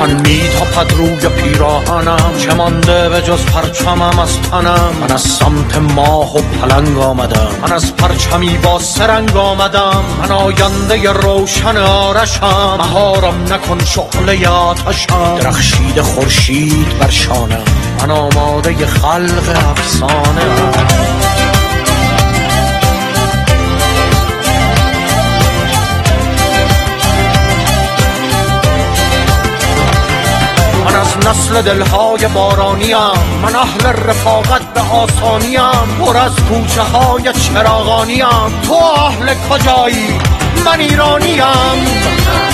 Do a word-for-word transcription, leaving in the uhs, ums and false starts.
من میتاپد روی پیراهنم، چه مانده به جز پرچمم از تنم. من از سمت ماه و پلنگ آمدم، من از پرچمی با سرنگ آمدم. من آینده روشن آرشم، مهارم نکن شعله آتشم. درخشید خورشید بر شانم، من آماده خلق افسانه ام. من از نسل دلهای بارانیم، من اهل رفاقت به آسانیم. پر از کوچه های چراغانیم، تو اهل کجایی؟ من ایرانیم.